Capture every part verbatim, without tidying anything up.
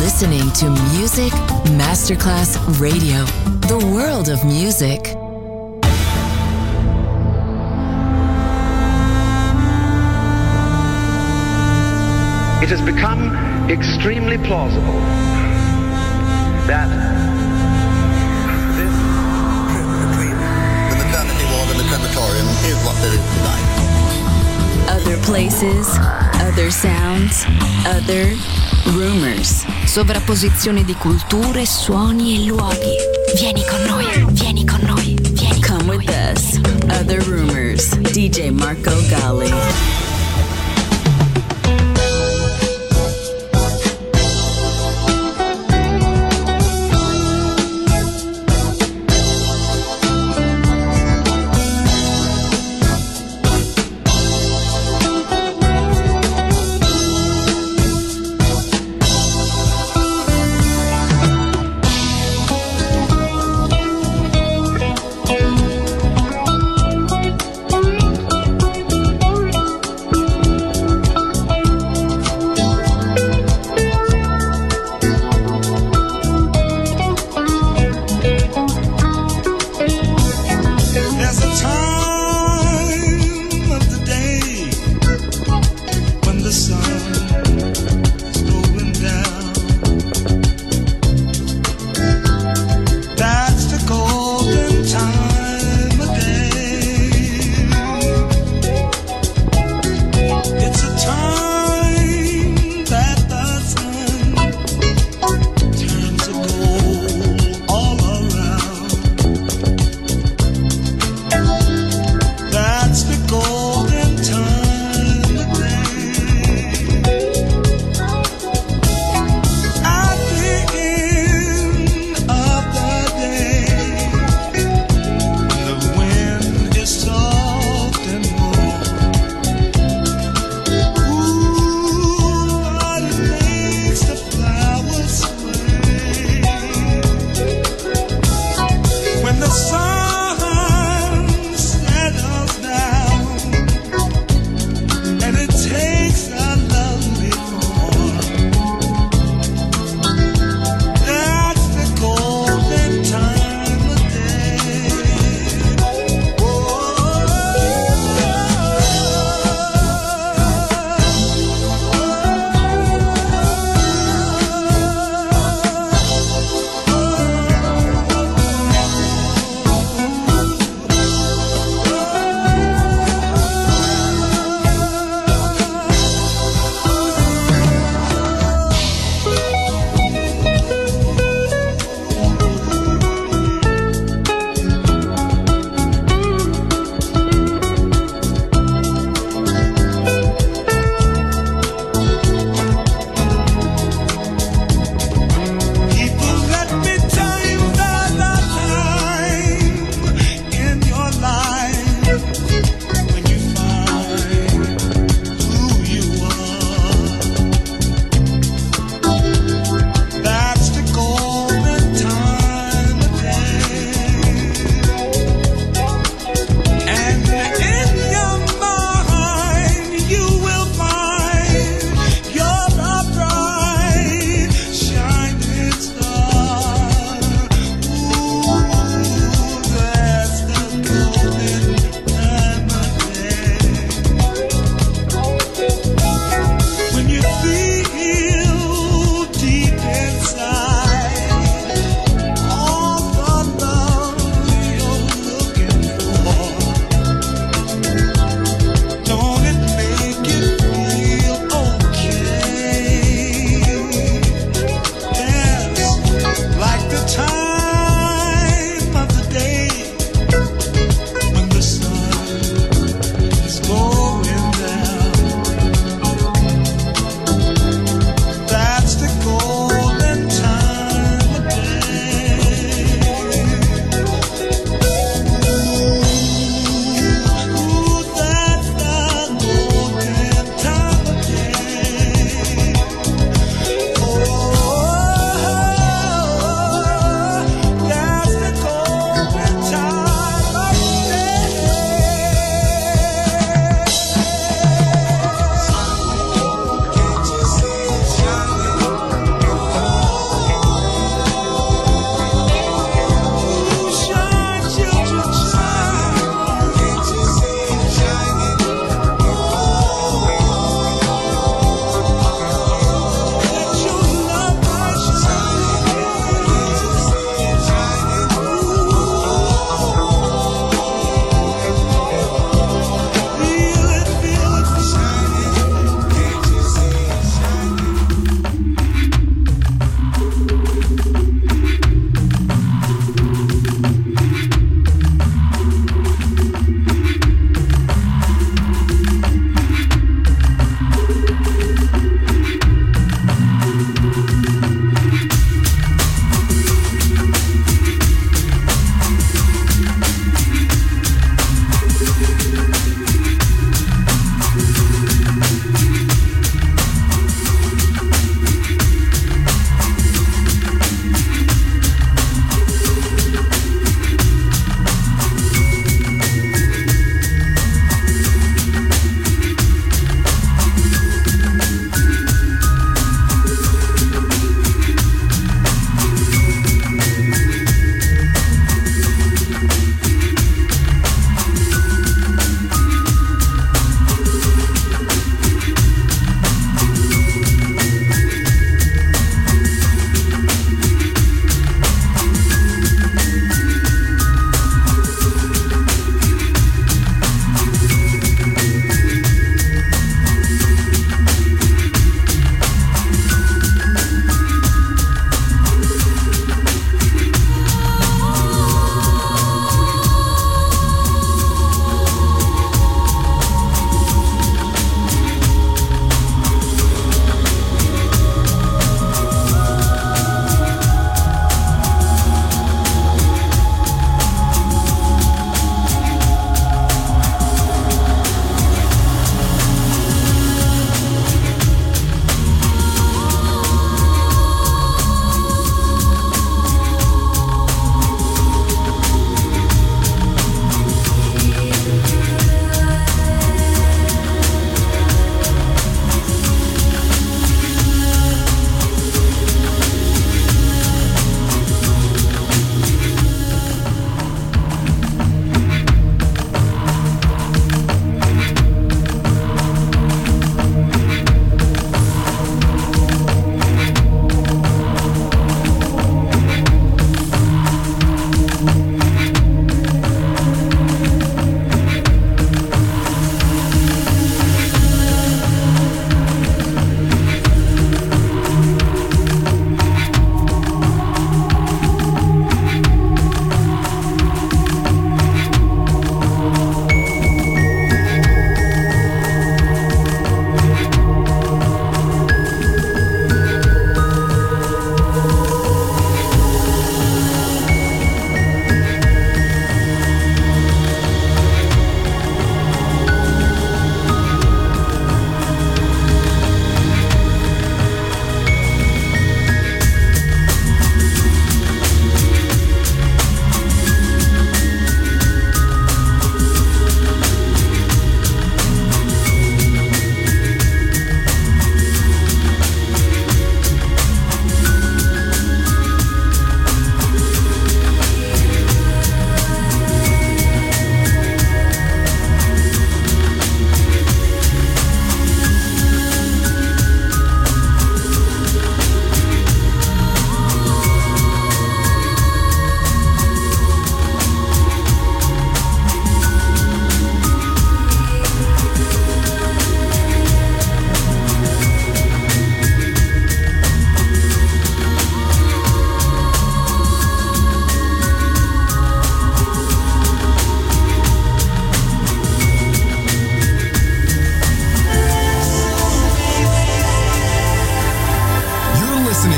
listening to Music Masterclass Radio, the world of music. It has become extremely plausible that this trip between the maternity ward and the crematorium is what there is tonight. Other places, other sounds, other rumors. Sovrapposizione di culture, suoni e luoghi. Vieni con noi, vieni con noi, vieni con Come with us. Other Rumors. D J Marco Gally.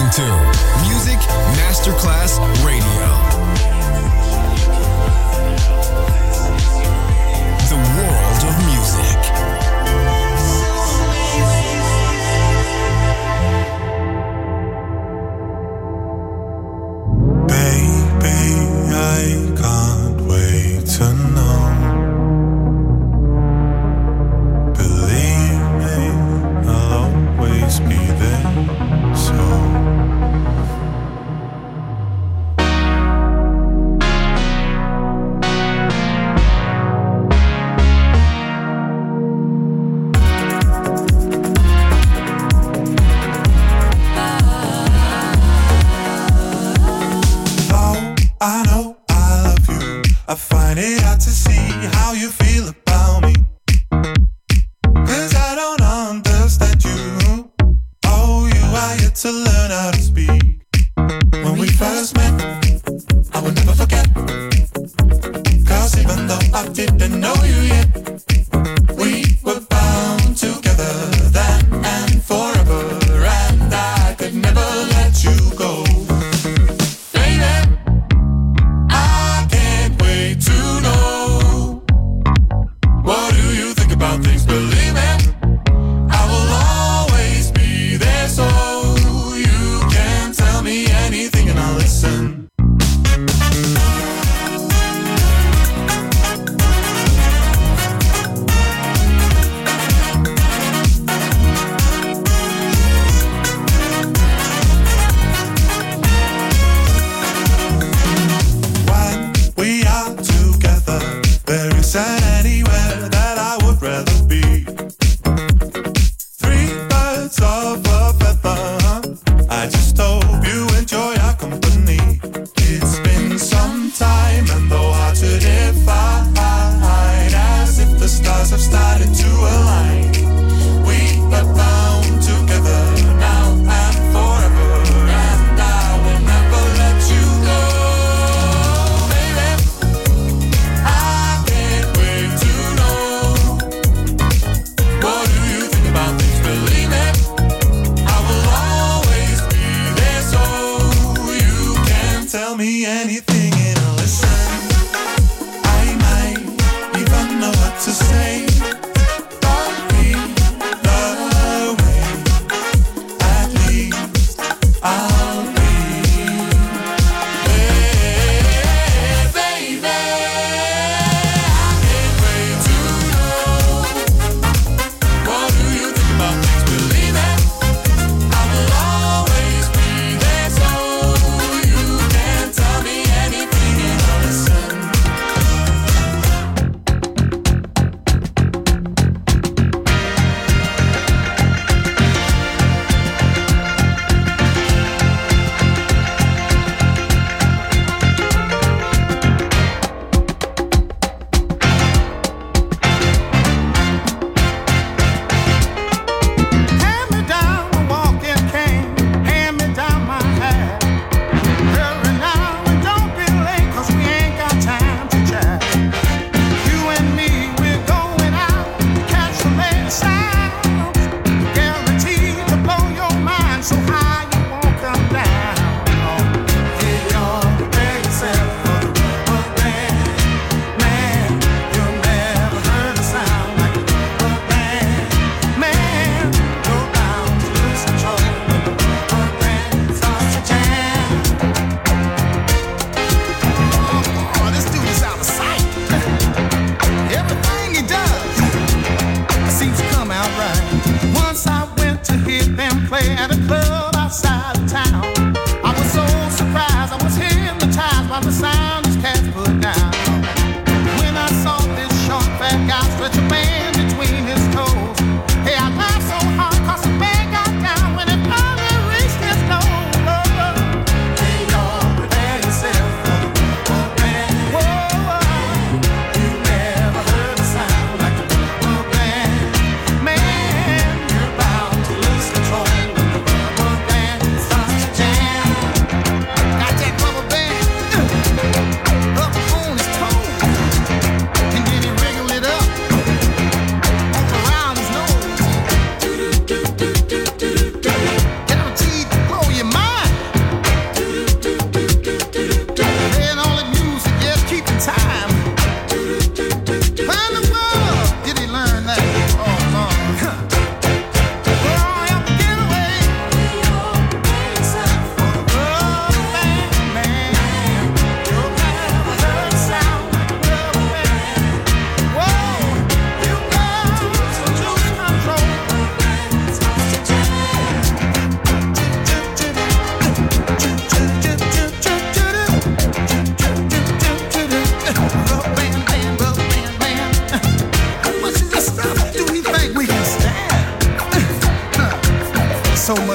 to Music Masterclass Radio. The world of music. Baby, I can't wait to know. Believe me, I'll always be there. So I know I love you. I find it hard to see how you feel about me, 'cause I don't understand you. Oh, you are yet to learn how to speak. When we first met, I will never forget, 'cause even though I didn't know you yet, we were bound together then and forever, and I could never let you go. Things, believe me, I will always be there so you can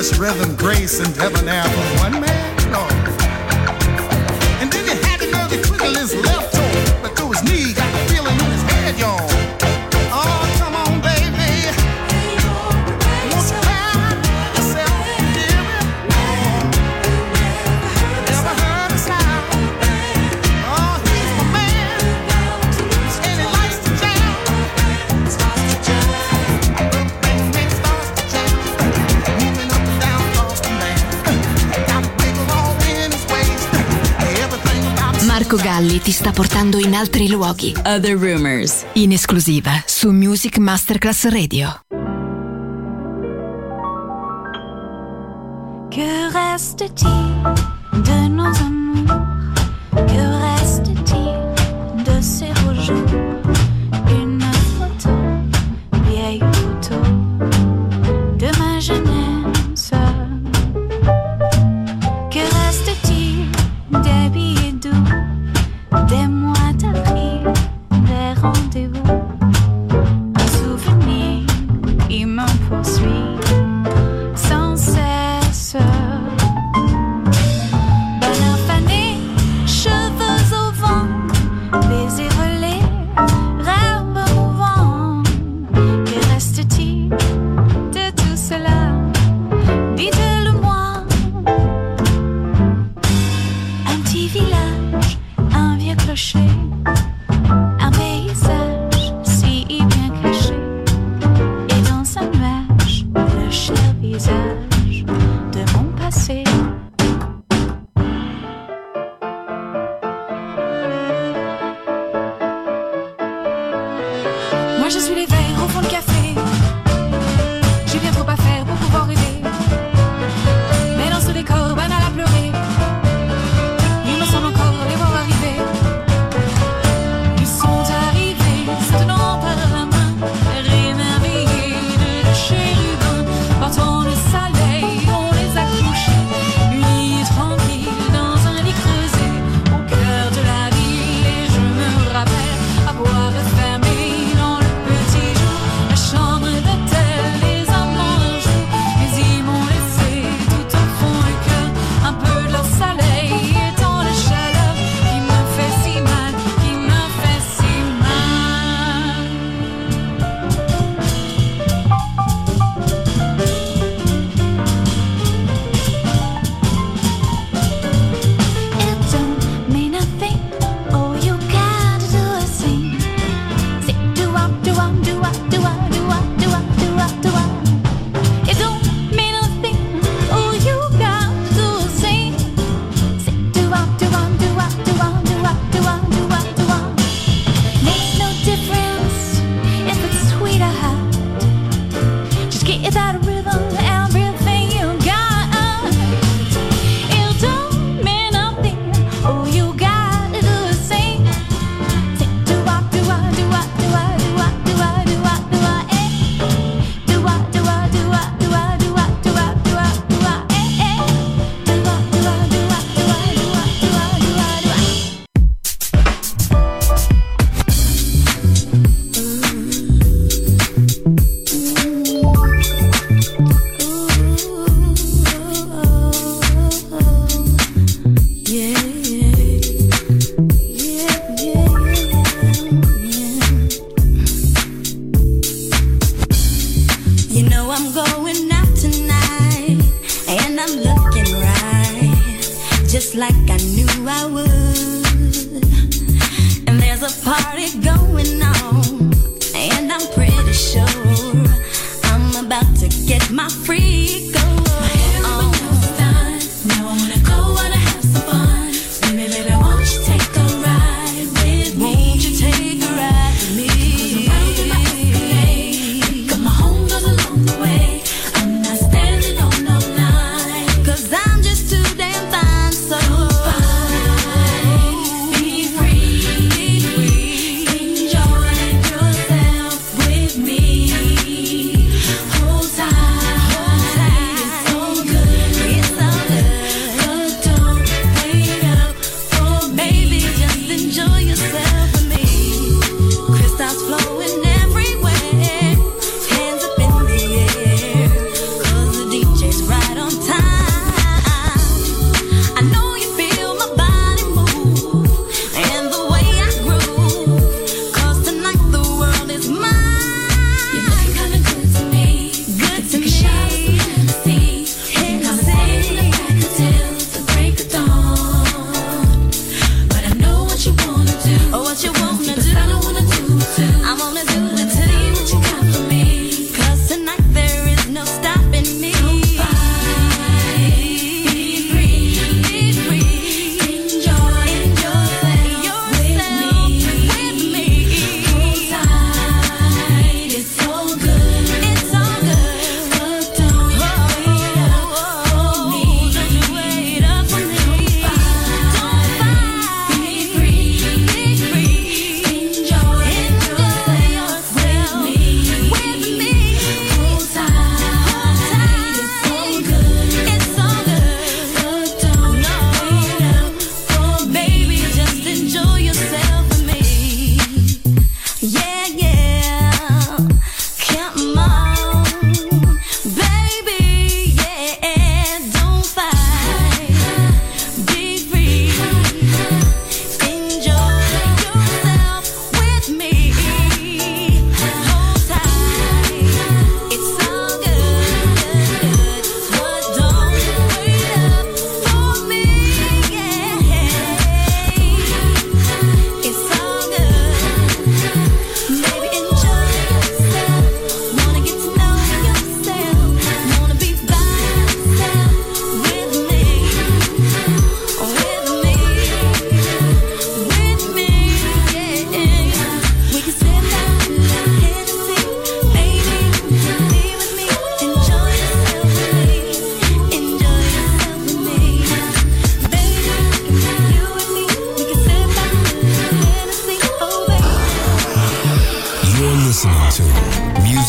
just rhythm, grace, and debonair from one man, Lord. And then he had to know the twiddle his left toe, but through his knee, got the feeling in his head, y'all. Oh, come on, baby. Won't you find yourself here? Never heard a sound. Oh, he's my man, and he likes to jam. The bang starts to jam, moving up and down off the man. Got a wiggle all in his waist. Everything about Marco Galli ti sta portando in altri luoghi. Other Rumors, in esclusiva su Music Masterclass Radio. Que reste-t-il de nos amours? Que reste-t-il de ces beaux jours? Une photo, vieille photo de ma jeunesse. Que reste-t-il des billets doux, des mois d'avril, des rendez-vous? Un souvenir, il me poursuit sans cesse. Bonheur fané, cheveux au vent, baisers volés, rêves mouvants. Que reste-t-il de tout cela? Dites-le-moi. Un petit village, un vieux clocher, un paysage si bien caché, et dans un nuage, le cher visage de mon passé. Moi je suis l'éveil au fond du café. J'ai bien trop à faire pour pouvoir rêver. Mais dans ce décor banal à pleurer, il me semble encore les voir arriver. Ils sont arrivés, se tenant par la main, rémerveillés de chérubins. Portant le soleil, on les a couchés, unis et tranquilles dans un lit creusé au cœur de la ville. Et je me rappelle avoir fermé dans le petit jour la chambre d'hôtel, les amants un jour. Mais ils m'ont laissé tout au fond du cœur un peu de leur soleil et tant de chaleur qui me fait si mal, qui me fait si mal. It don't mean nothing. Oh, you gotta do a thing. Say do up, do up, do up, do up, do up, do up, do up, do up. It don't mean nothing. Oh, you gotta do a thing. Say do up, do up, do up, do up, do up, do up, do up, do up. Makes no difference if it's sweet or hot. Just get that rhythm, everything you got. It don't mean nothing. Oh, you gotta do a thing. Say do up, do up, do up, do up, do up, do up, do up, do up, eh. Do up, do up, do up, do up, do up, do up, do up, do up, eh, eh. Do up, do up, do up, do up, do up, do up, do up, do up. Yeah, yeah, yeah, yeah. You know I'm going out tonight, and I'm looking right, just like I knew I would. And there's a party going on, and I'm pretty sure I'm about to get my freak on. Now I wanna go, wanna have some fun. Baby, baby, won't you take a ride with me? Won't you take a ride with me? 'Cause I'm out in my Escalade. Got my home goes along the way. I'm not standing on no line. 'Cause I'm just too damn fine, so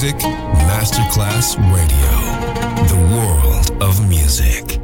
Music Masterclass Radio. The world of music.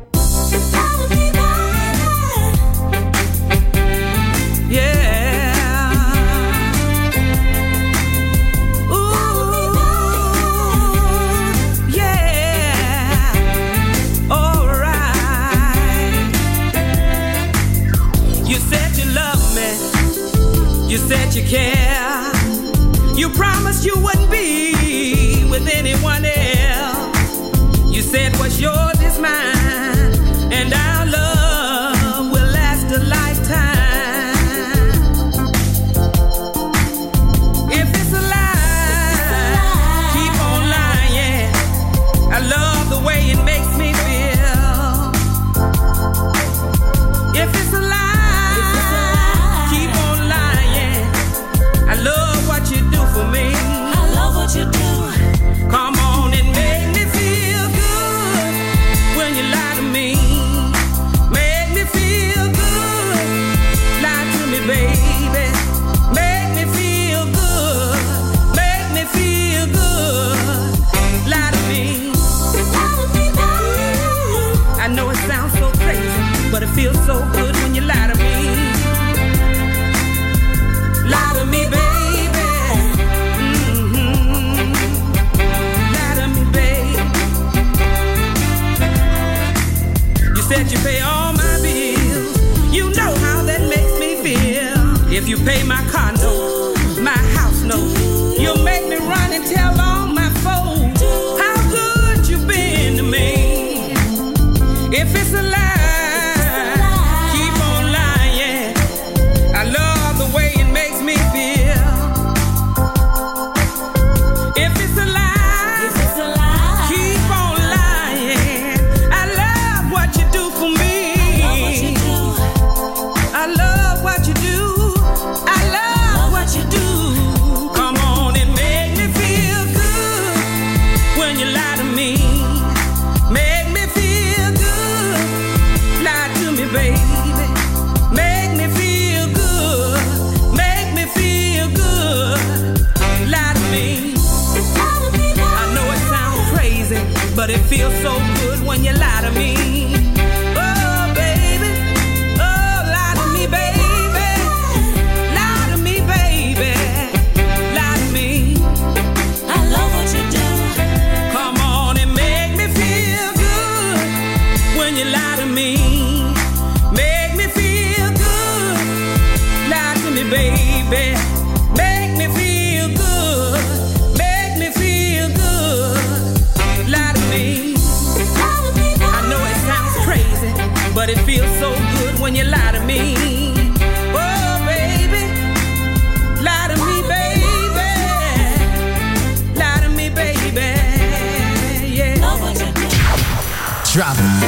You said you care. You promised you wouldn't be with anyone else. You said what's yours is mine, and our love will last a lifetime. If it's a lie, keep on lying. I love the way it makes me feel. If it's a lie, I love what you do for me. I love what you do. Come on and make me feel good when you lie to me. Make me feel good. Lie to me, baby. Make me feel good. Make me feel good. Lie to me. I know it sounds so crazy, but it feels so good when you lie to me. Lie to me, baby. Mm-hmm. Lie to me, baby. You said you pay all my bills. You know how that makes me feel. If you pay my car note, my house note, you'll make me run and tell all my folks how good you've been to me. If it's a lie, but it feels so good when you lie to me. Oh, baby. Oh, lie to me, baby. Lie to me, baby. Lie to me. I love what you do. Come on and make me feel good when you lie to me. Make me feel good. Lie to me, baby. Make me feel good. Make me feel good. Lie to me. I know it sounds crazy, but it feels so good when you lie to me. Oh, baby. Lie to me, baby. Lie to me, baby. Yeah. Drop it.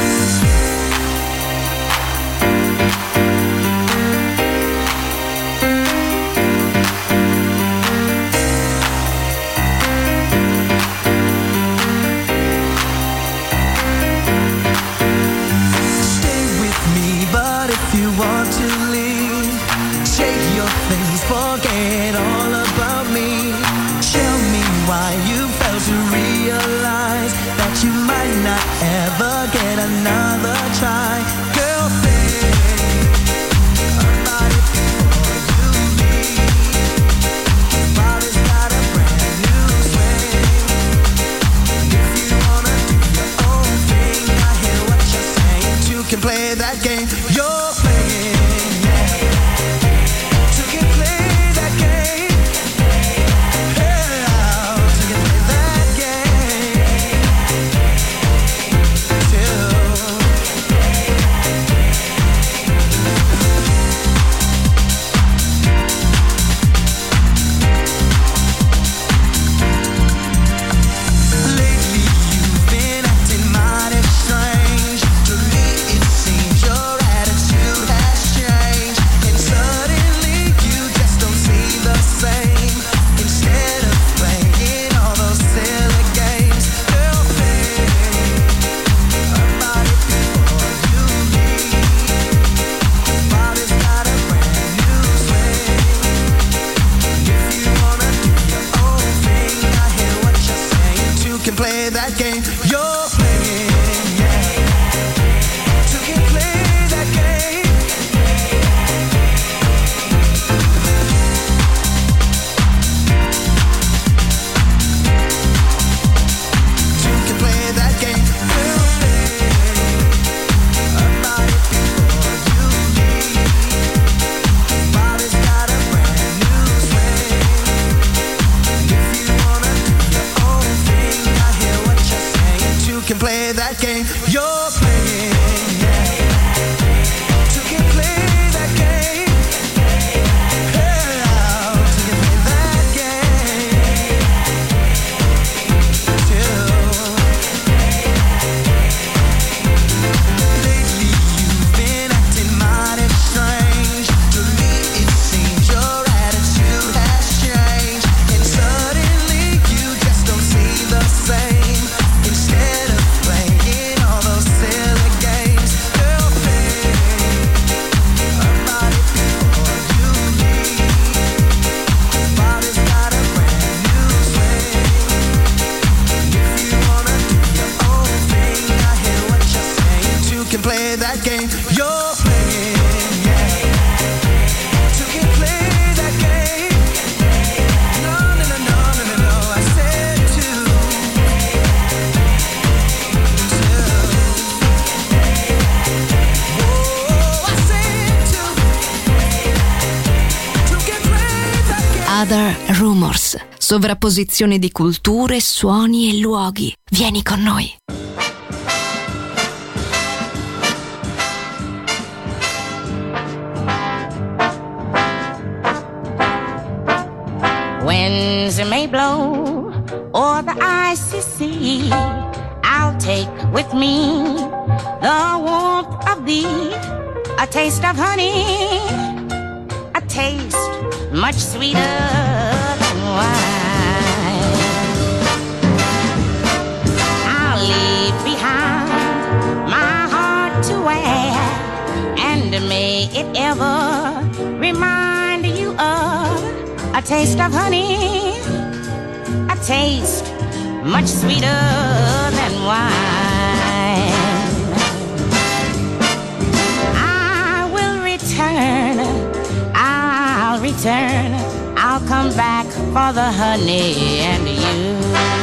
Want to leave, take your things, forget all about me. Tell me why you failed to realize that you might not ever get another try. Girlfriend, I'm not it before you leave. Body's got a brand new swing. If you wanna do your own thing, I hear what you're saying. You can play that game. You're strange. To me it seems you're game you're playing, yeah. So you play that game. No, no, no, no, no, no, no. I said to, to. Oh, I said to, to get play that game. Other Rumors. Sovrapposizione di culture, suoni e luoghi. Vieni con noi. Winds may blow or the icy sea, I'll take with me the warmth of thee, a taste of honey, a taste much sweeter than wine. I'll leave behind my heart to wear, and may it ever remind you of a taste of honey, a taste much sweeter than wine. I will return, I'll return, I'll come back for the honey and you.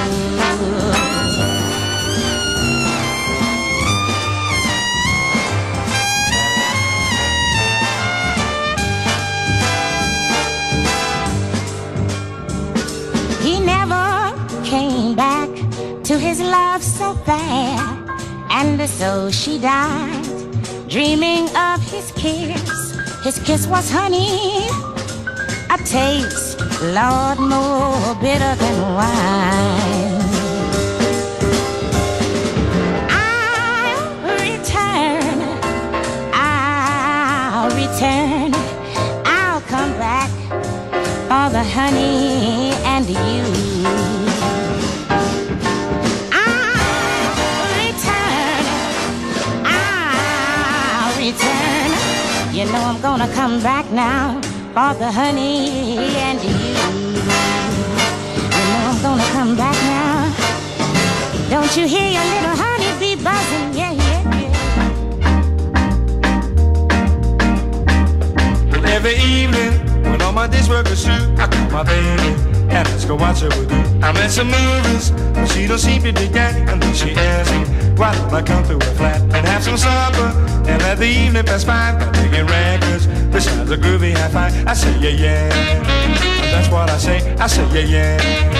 He never came back to his love so fair, and so she died, dreaming of his kiss. His kiss was honey, a taste, Lord, more bitter than wine. I'll return, I'll return, I'll come back for the honey and you. I'll return, I'll return. You know I'm gonna come back now for the honey and you. You know I'm gonna come back now. Don't you hear your little honey bee buzzing? Yeah, yeah, yeah. Well, every evening when all my days work is through, I call my baby and let's go watch her with you. I'm at some movies, but she don't seem to dig that. And then she asks me, why don't I come through a flat and have some supper and let the evening pass by by digging records besides a groovy high five. I say yeah yeah, and that's what I say. I say yeah yeah.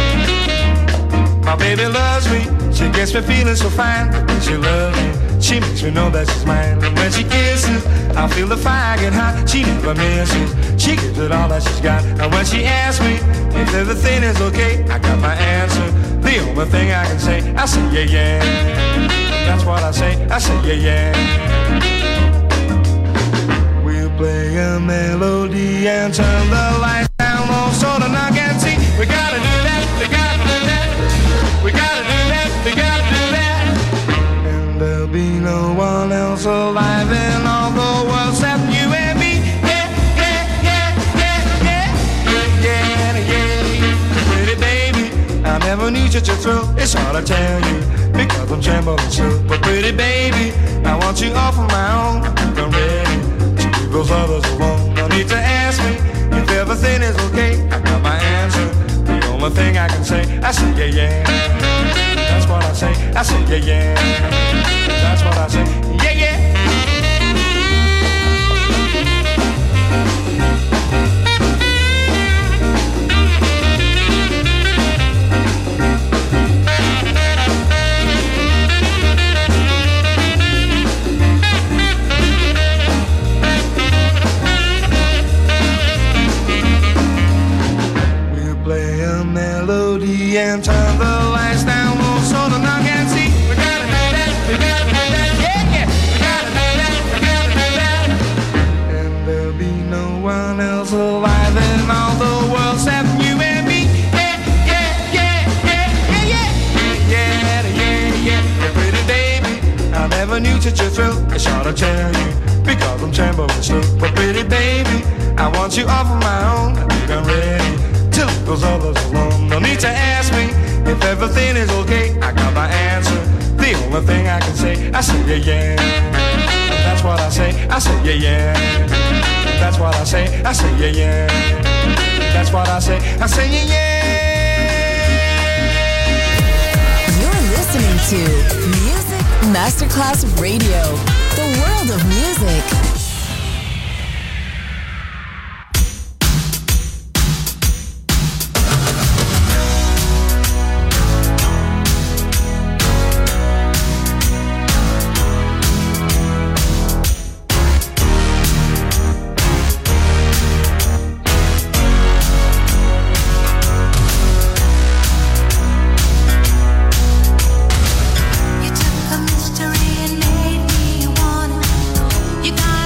My baby loves me, she gets me feeling so fine. But when she loves me, she makes me know that she's mine. And when she kisses, I feel the fire get hot. She never misses, she gives it all that she's got. And when she asks me if everything is okay, I got my answer, the only thing I can say. I say yeah yeah, that's what I say. I say yeah yeah. We'll play a melody and turn the lights down low so the knock and see. We gotta do that, we gotta do that, we gotta do that, we gotta do that. And there'll be no one else alive in all the world except you and me. Yeah, yeah, yeah, yeah, yeah, yeah, yeah, yeah. Pretty baby, I never knew such a thrill. It's hard to tell you because I'm trembling still. But pretty baby, I want you all for my own. I'm ready to leave those others alone. No need to ask me if everything is okay. I got my answer, the only thing I can say. I say yeah yeah, that's what I say. I say yeah yeah, that's what I say. Yeah yeah. And turn the lights down low so the knock and see. We gotta do that, we gotta do that, yeah, yeah. We gotta do that, we gotta do that. And there'll be no one else alive in all the world except you and me. Yeah, yeah, yeah, yeah, yeah, yeah, yeah, yeah, yeah, yeah. Pretty baby, I never knew such a thrill. It's hard to tell you because I'm trembling still. But pretty baby, I want you all for my own. I think I'm ready to leave those others alone. No need to ask me if everything is okay. I got my answer, the only thing I can say. I say yeah yeah, that's what I say. I say, yeah, yeah. That's what I say. I say, yeah, yeah. That's what I say. I say, yeah, yeah. You're listening to Music Masterclass Radio, the world of music. You took a mystery and made me wanna. You got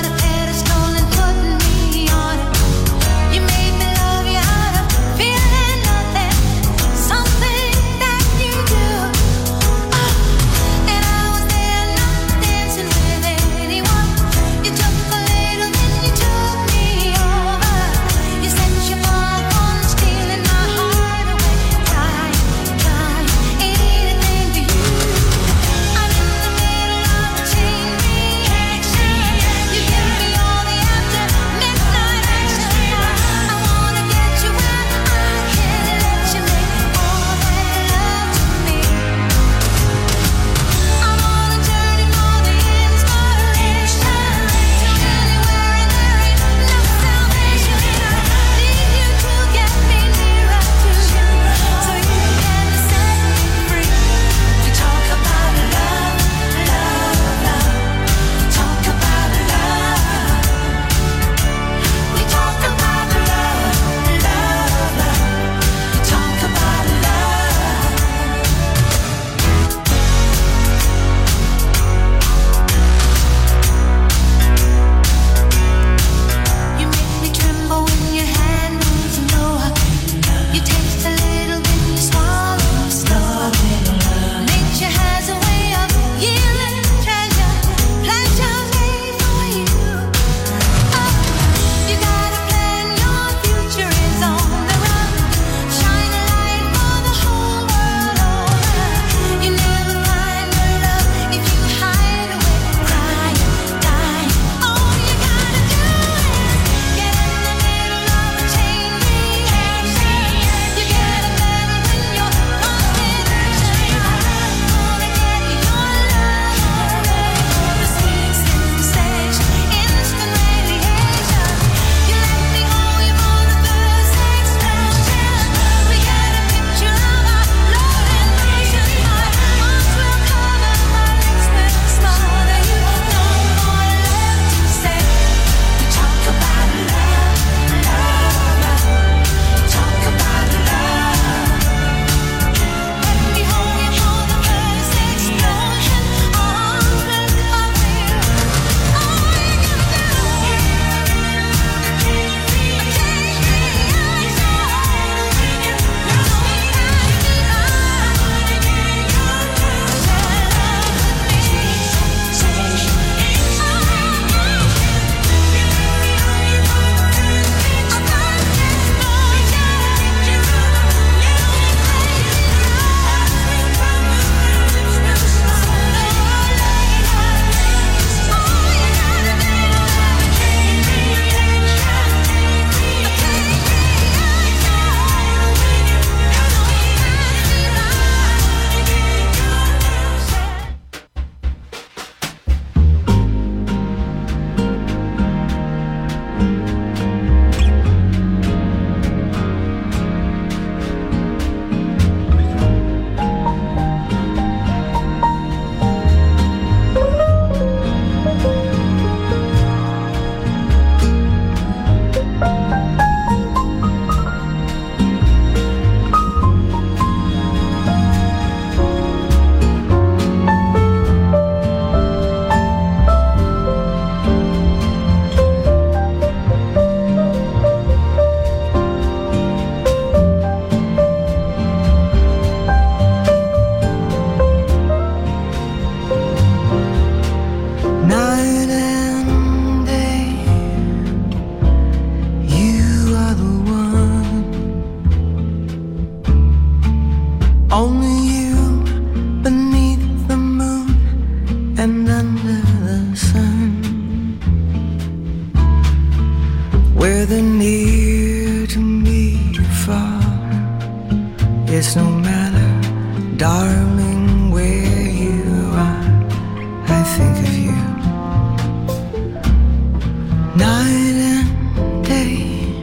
night and day,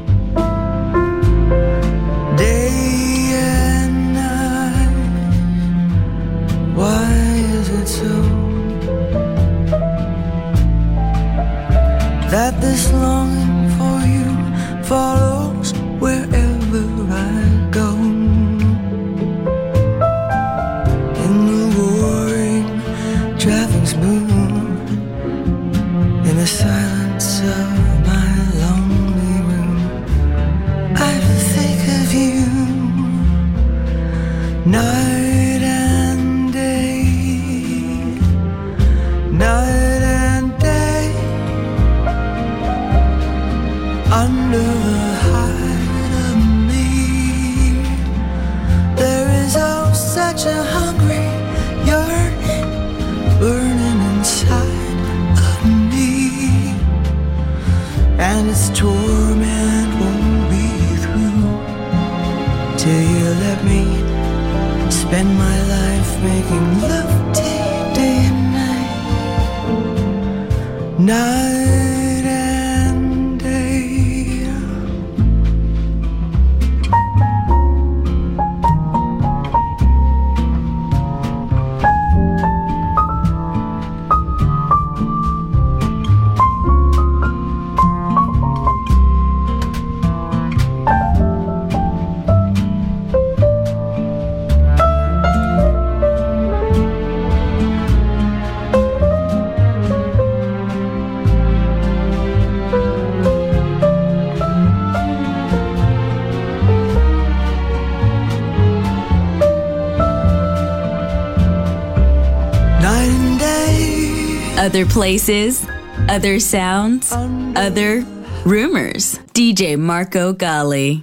day and night. Why is it so that this longing for you follows wherever I go? In the roaring traffic smooth, in the silence of my lonely room, I think of you night and day, night and day. Under the hide of me, there is oh such a hungry yearning burning inside of me, and its torment won't be through till you let me spend my life making love to you day and night, night and day. Other places, other sounds, other rumors. D J Marco Gally.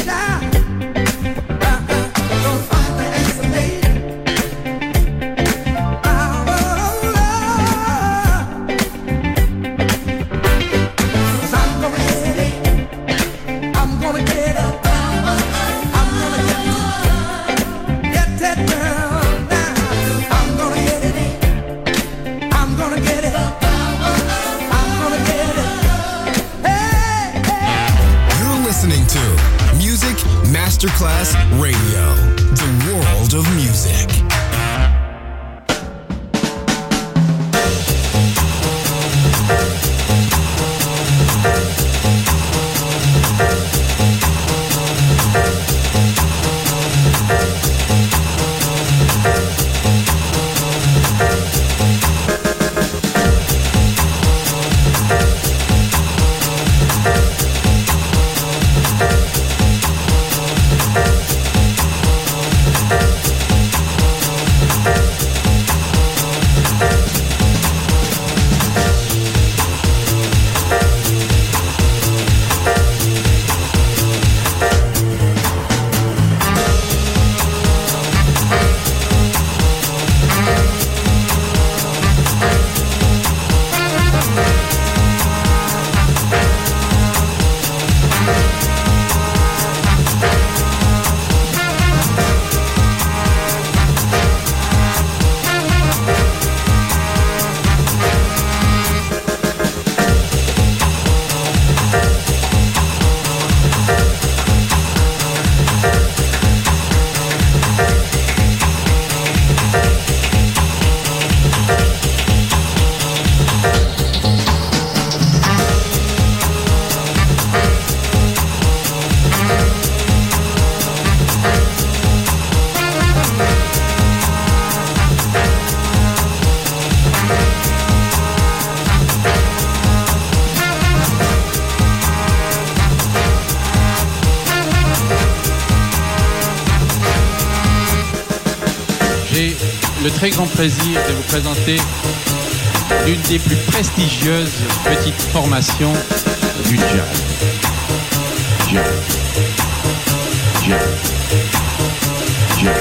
Masterclass Radio, the world of music. Le très grand plaisir de vous présenter l'une des plus prestigieuses petites formations du jazz. Jazz. Jazz. Jazz.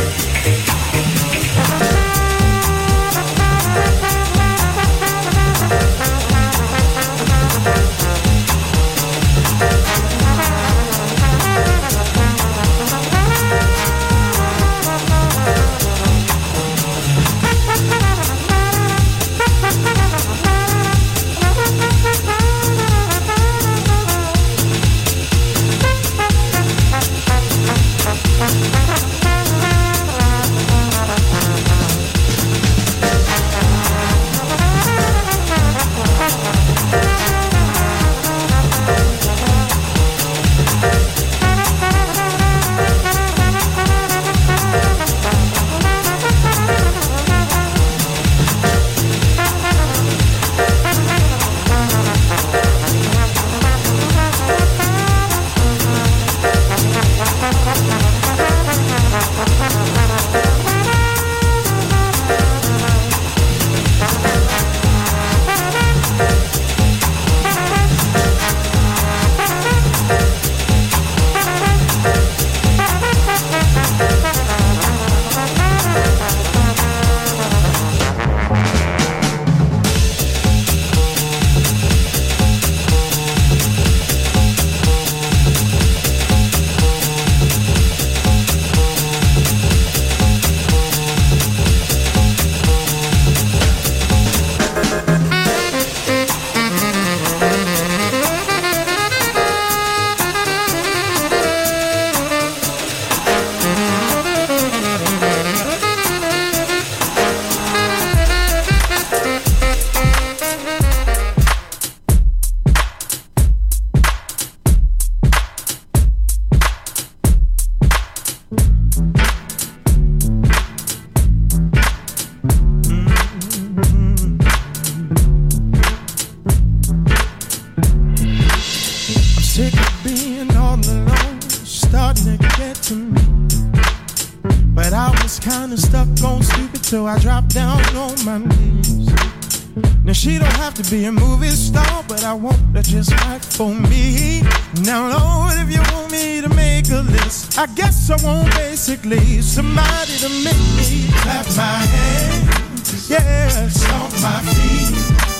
So I dropped down on my knees Now she don't have to be a movie star, but I want her just right for me. Now Lord, if you want me to make a list, I guess I want basically somebody to make me clap my hands, yeah, stomp my feet.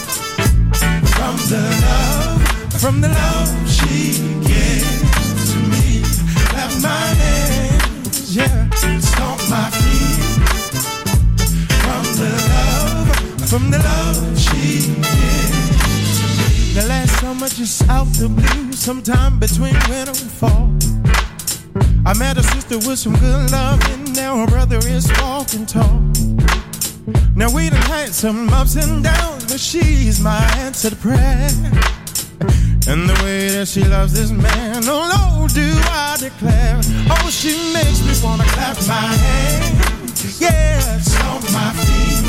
From the love, from the love she gives to me. Clap my hands, yeah, stomp my feet. From the love, from the love she gives to me. The last summer just out the blue, sometime between winter and fall, I met a sister with some good love, and now her brother is walking tall. Now we done had some ups and downs, but she's my answer to prayer. And the way that she loves this man, oh Lord, do I declare. Oh, she makes me wanna clap my hands, yeah, stomp my feet.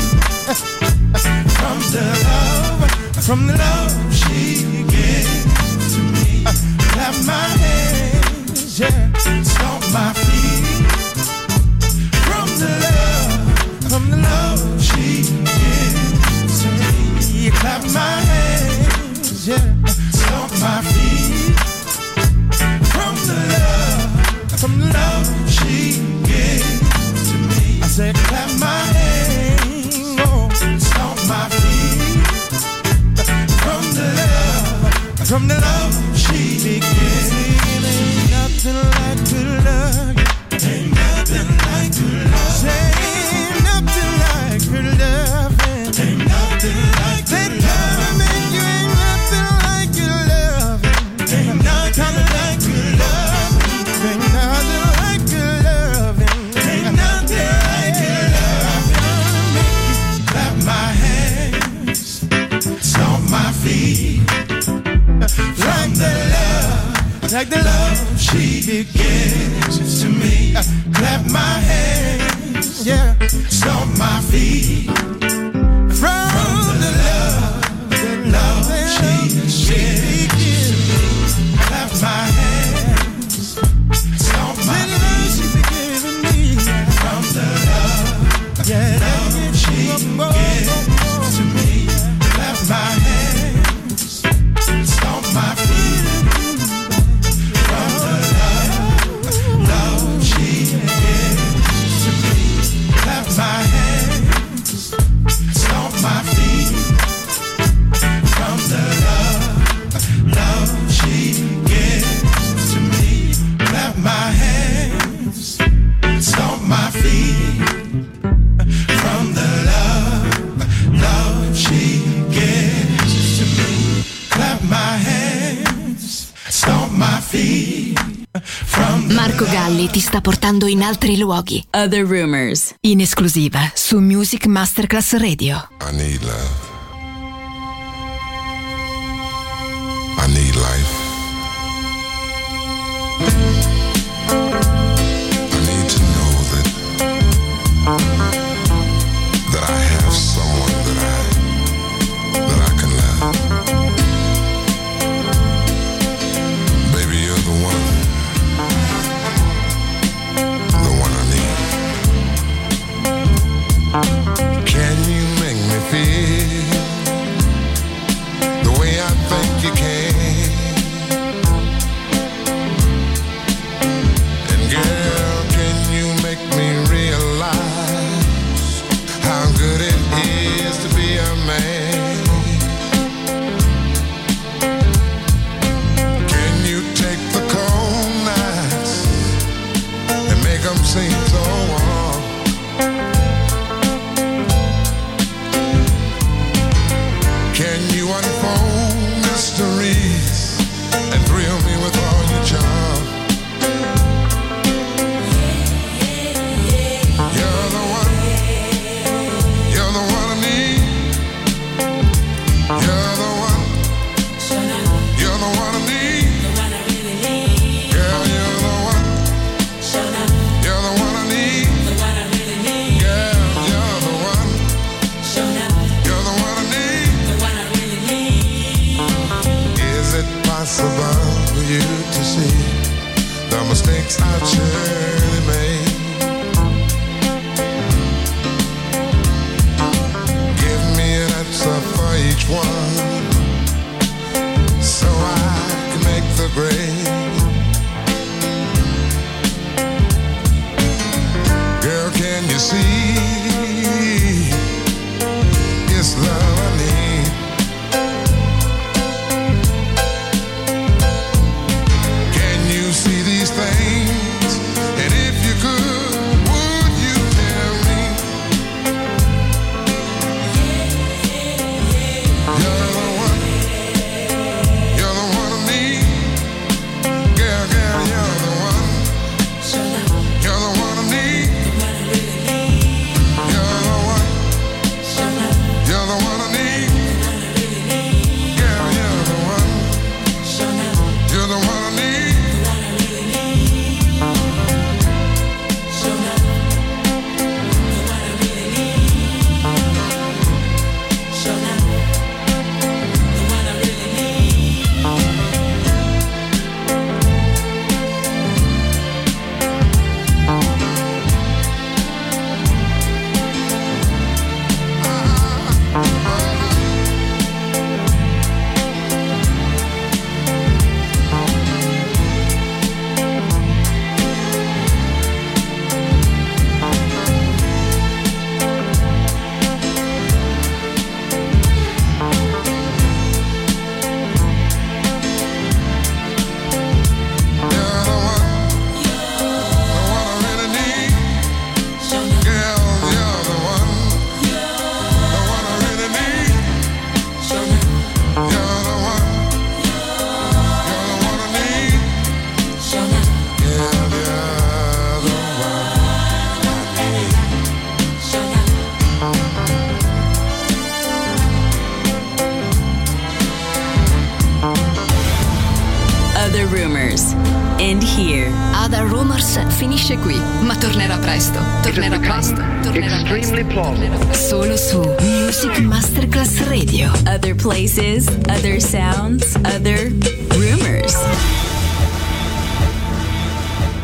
From the love, from the love she gives to me. Clap my hands, yeah, stomp my feet. From the love, from the love she gives to me. Clap my hands, yeah, stomp my feet. From the love, from the love she gives to me. I said clap my hands, oh, stomp my feet. From the love, from the love she gives. Ain't nothing like good love. Ain't nothing like good love. Say ain't nothing like good love. Ain't nothing like good love. Make you ain't nothing like good love. Ain't nothing like good love. Ain't nothing like good love. Ain't nothing like good love. Make you clap my hands, stomp my feet. Like the love, like the love she gives to me. Clap my hands, yeah, stomp my feet. From the love, the love she gives to me. Clap my hands, stomp my feet. From the love, yeah, love she gives to me. Clap my hands, stomp my feet. From the love, love she gives to me. Clap my hands, stomp my feet. From the love, love she gives to me. Clap my hands, stomp my feet. From the love, love she gives to me. Clap my hands, stomp my feet. Marco Galli ti sta portando in altri luoghi. Other Rumors, in esclusiva su Music Masterclass Radio. I need love. I need life. I need to know that that I have someone that I that I can love. Baby, you're the one, the one I need. Can you make me feel the way I think you can? And girl, can you make me realize how good it is to be a man? Can you take the cold nights and make them seem so warm? Can you unfold mysteries and thrill me with all your charm? You're the one, you're the one I need. You're the one, you're the one I need. Girl, you're the one, you're the one I need. Girl, you're the one, you're the one I need. Is it possible for you to see the mistakes I've surely made? Give me an answer for see? It's love I need. Can you see these things? And if you could, would you tell me? You're the one, you're the one of me. Girl, girl, you're the one. You're the one of me. You're the one. You're the one I need. Girl, you're the one. You're the one I need. Other Rumors. End here. Other Rumors finisce qui, ma tornerà presto. Tornerà presto. Tornerà Extremely plausible. Solo su Music Masterclass Radio. Other places, other sounds, other rumors.